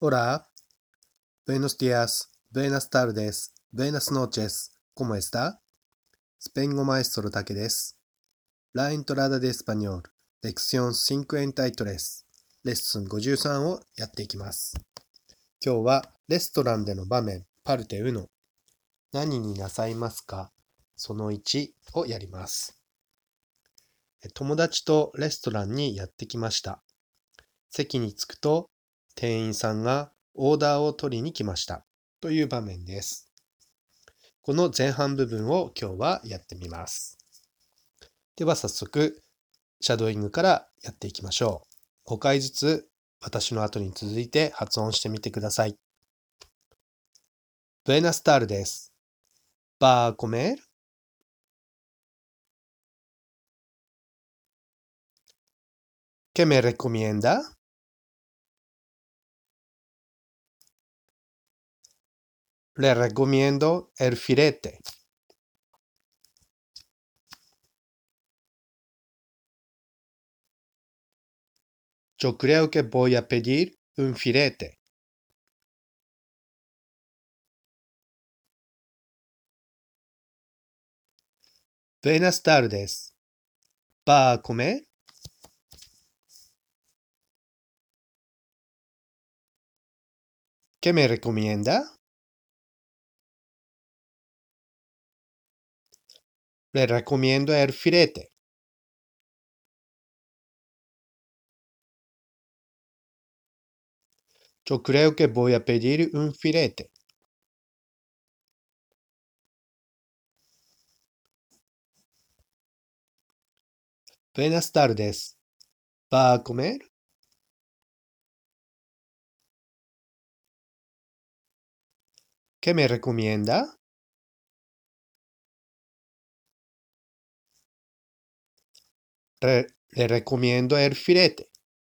Hola, buenos días, buenas tardes, buenas noches, ¿cómo está? スペイン語マエストロタケです。La entrada de español, lección 53、レッスン53をやっていきます。今日はレストランでの場面、パルテウの何になさいますかその1をやります。友達とレストランにやってきました。席に着くと店員さんがオーダーを取りに来ましたという場面です。この前半部分を今日はやってみます。では早速、シャドーイングからやっていきましょう。5回ずつ私の後に続いて発音してみてください。Buenas tardes. ¿Va a comer? ¿Qué me recomienda? Le recomiendo el filete. Yo creo que voy a pedir un filete. Buenas tardes. ¿Va a comer? ¿Qué me recomienda? Le recomiendo el filete. Yo creo que voy a pedir un filete. Buenas tardes. ¿Va a comer? ¿Qué me recomienda? Le recomiendo el filete.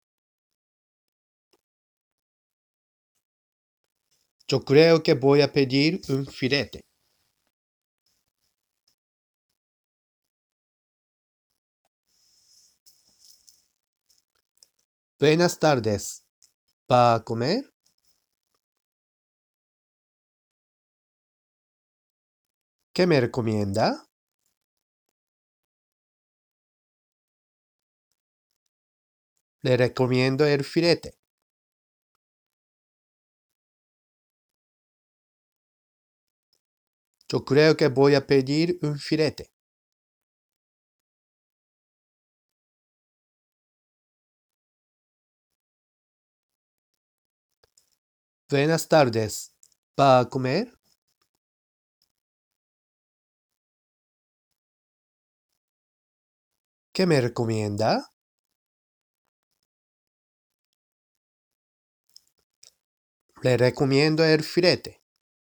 Yo creo que voy a pedir un filete. Buenas tardes. ¿Va a comer? ¿Qué me recomienda? Le recomiendo el filete. Yo creo que voy a pedir un filete. Buenas tardes. ¿Va a comer? ¿Qué me recomienda? Le recomiendo el filete.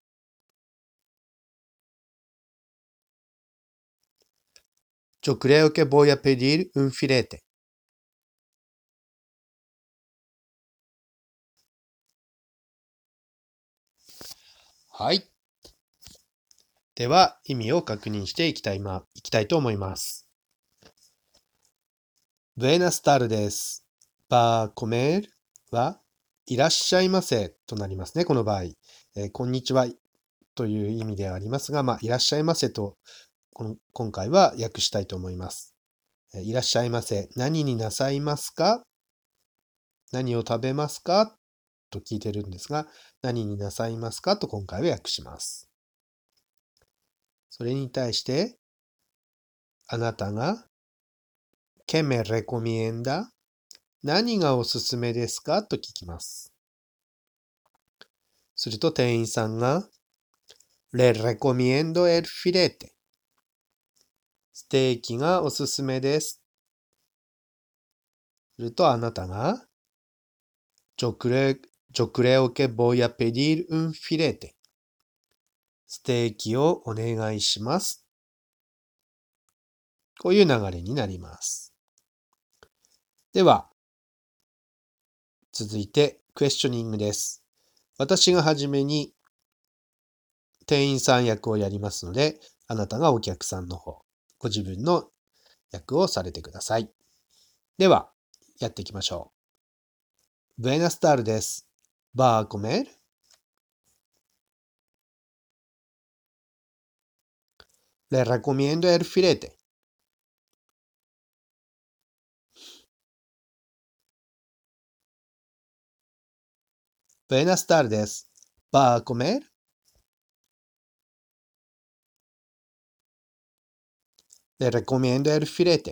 Yo creo que voy a pedir un filete. はい。では、意味を確認していきたいと思います。Buenas tardes. ¿Va a comer? は、いらっしゃいませとなりますね、この場合。こんにちはという意味ではありますが、いらっしゃいませと、今回は訳したいと思います。いらっしゃいませ。何になさいますか？何を食べますか？と聞いてるんですが、何になさいますかと今回は訳します。それに対して、あなたが、¿Qué me recomienda? 何がおすすめですかと聞きます。すると店員さんが、Le recomiendo el filete. ステーキがおすすめです。するとあなたが、Yo creo que voy a pedir un filete. ステーキをお願いします。こういう流れになります。では、続いてクエスチョニングです。私がはじめに店員さん役をやりますので、あなたがお客さんの方、ご自分の役をされてください。では、やっていきましょう。Buenas tardes. ¿Va a comer? Le recomiendo el filete. Buenas tardes. ¿Va a comer? Le recomiendo el filete.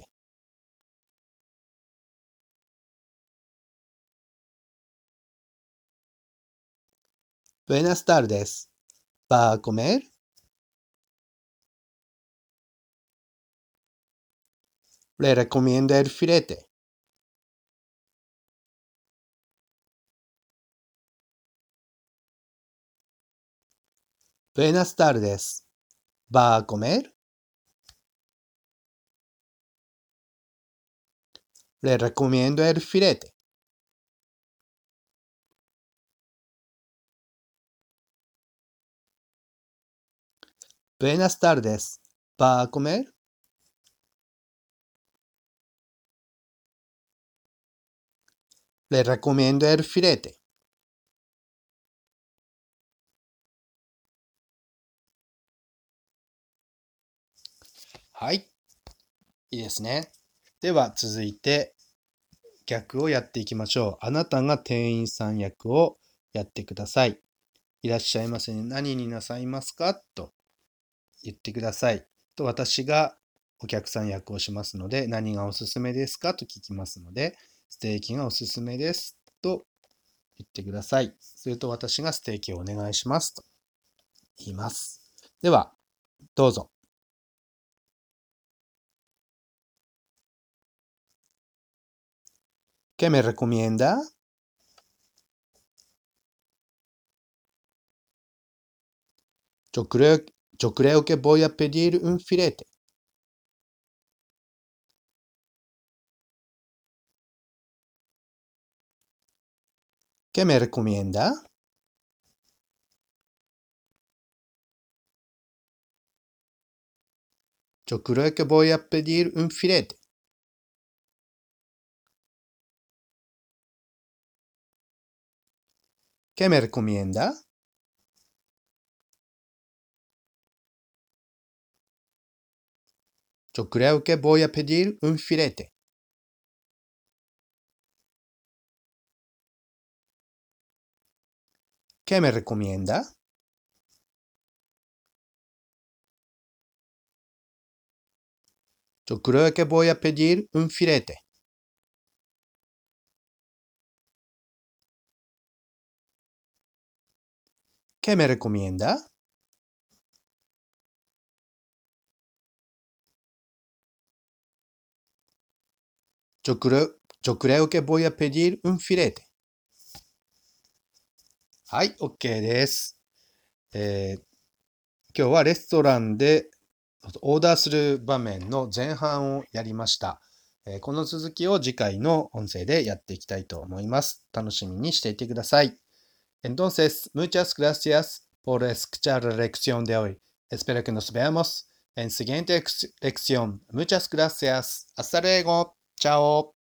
Buenas tardes. ¿Va a comer? Le recomiendo el filete. Buenas tardes. ¿Va a comer? Le recomiendo el filete. Buenas tardes. ¿Va a comer? Le recomiendo el filete.はい。いいですね。では続いて逆をやっていきましょう。あなたが店員さん役をやってください。いらっしゃいませね。何になさいますかと言ってください。と私がお客さん役をしますので、何がおすすめですかと聞きますので、ステーキがおすすめですと言ってください。すると私がステーキをお願いしますと言います。では、どうぞ。¿Qué me recomienda? Yo creo que voy a pedir un filete. ¿Qué me recomienda? Yo creo que voy a pedir un filete. ¿Qué me recomienda? Yo creo que voy a pedir un filete. ¿Qué me recomienda? Yo creo que voy a pedir un filete. ¿Qué me recomienda? Yo creo que voy a pedir un filete. はい、OK です。今日はレストランでオーダーする場面の前半をやりました。この続きを次回の音声でやっていきたいと思います。楽しみにしていてください。Entonces, muchas gracias por escuchar la lección de hoy. Espero que nos veamos en siguiente lección. Muchas gracias. Hasta luego. Chao.